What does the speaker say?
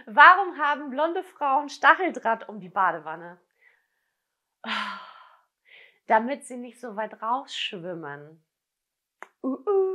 Warum haben blonde Frauen Stacheldraht um die Badewanne? Damit sie nicht so weit rausschwimmen.